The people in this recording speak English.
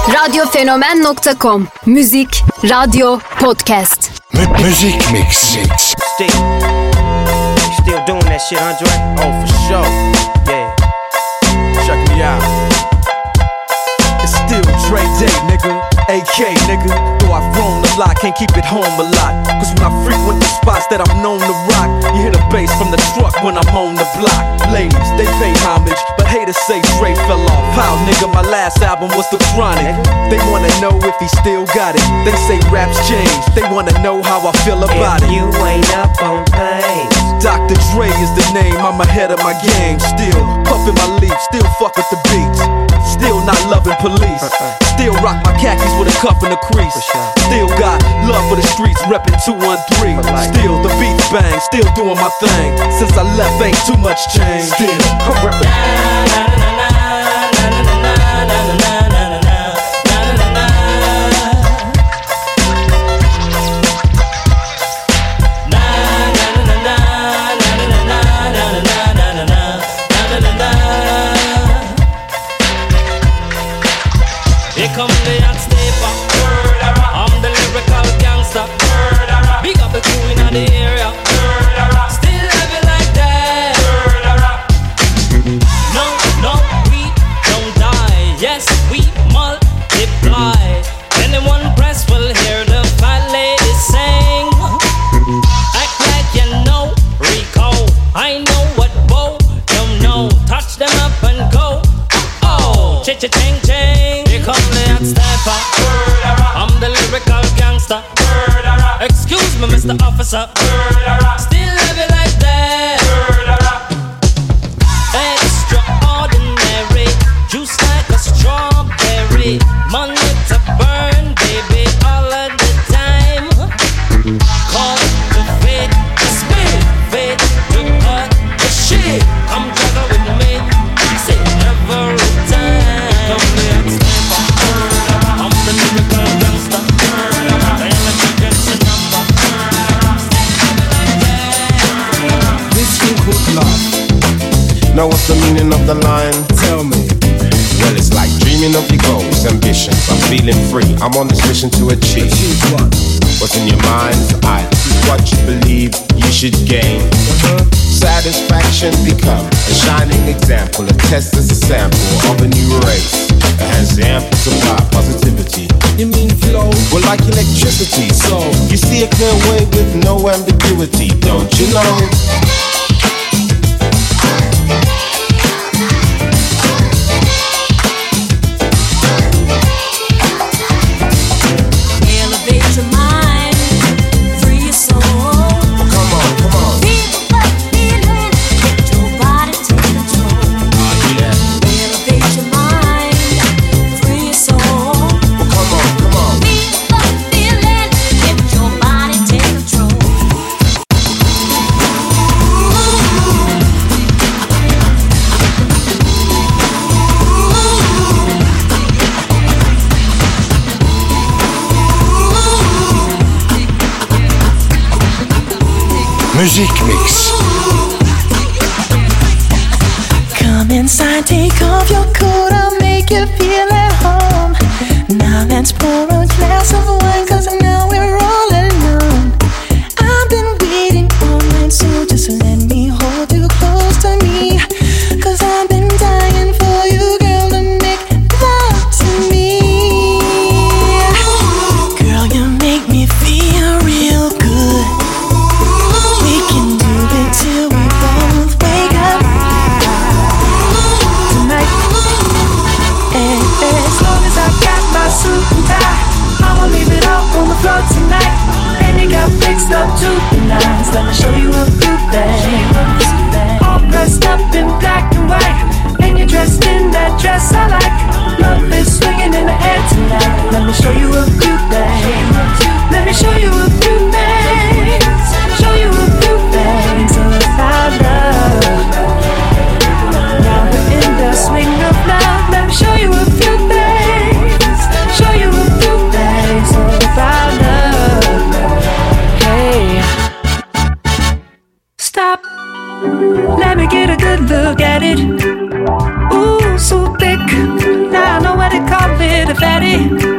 Radyofenomen.com. Müzik, radyo, podcast. Müzik Mix. Still doing that shit, Andre? Oh, for sure. Yeah. Check me out. It's still Dre Day, nigga. AK, nigga. Though I've grown a lot, can't keep it home a lot. Cause when I frequent the spots that I'm known to rock, you hear the bass from the truck when I'm on the block. Ladies, they pay homage, but haters say Dre fell off. How, nigga, my last album was The Chronic. They wanna know if he still got it. They say raps change, they wanna know how I feel about it. You ain't up on things. Dr. Dre is the name, I'm ahead of my game. Still puffin' my leaf, still fuck with the beats. Still not loving police. Still rock my khakis with a cuff and a crease. Still got love for the streets, reppin' 213. Still the beats bang, still doing my thing. Since I left ain't too much change. Still I'm reppin'. Here come the hot stepper. I'm the lyrical gangster. Big up the crew in the area. Still have it like that. No, no, we don't die. Yes, we multiply. Anyone press will hear the fat lady sing. Act like you know Rico. I know what Bo don't know. Touch them up and go. Oh, cha-cha-ching-ching. Here come the hot stepper. I'm the lyrical gangster. Excuse me, Mr. Officer. Still have it like that. Extraordinary. Juice like a strawberry. Money to burn, baby, all of the time. Call the fate, the spirit, fate to cut the shit. I'm juggle with me. Say every time. Come the hot stepper. I'm the lyrical gangster. This thing called love. Know what's the meaning of the line? Tell me. Well, it's like dreaming of your goals, ambitions. I'm feeling free. I'm on this mission to achieve. What? What's in your mind's eye? What you believe you should gain. Satisfaction become a shining example. A test as a sample of a new race. It has the ample supply positivity. You mean flow? Well, like electricity. So you see a clear way with no ambiguity, don't you know? Elevate your mind, free your soul. Come on, come on. Feel the feeling, let your body take control. Elevate your mind, free your soul. Come on, come on. Feel the feeling, let your body take control. Music Mix. Come inside, take off your coat, I'll make you feel at home. Now let's pour a glass of wine, cause now we're all alone. I've been waiting all night, so just let me hold you close to me. Cause I've been dying for you, girl, to make love to me. Girl, you make me feel real good. We can do it till we both wake up tonight. And as long as I got my suit and tie, I'ma leave it all on the floor tonight. And you got fixed up to the nines. Let me show you a good thing. All dressed up in black and white, and you're dressed in that dress I like. Love is swinging in the air tonight. Let me show you a good thing. Let me show you a good thing. Show you a few things about love. Now we're in the swing of love. Let me show you a few things. Show you a few things about love. Hey, stop. Let me get a good look at it. Ooh, so thick. Now I know what they call it, a fatty. me.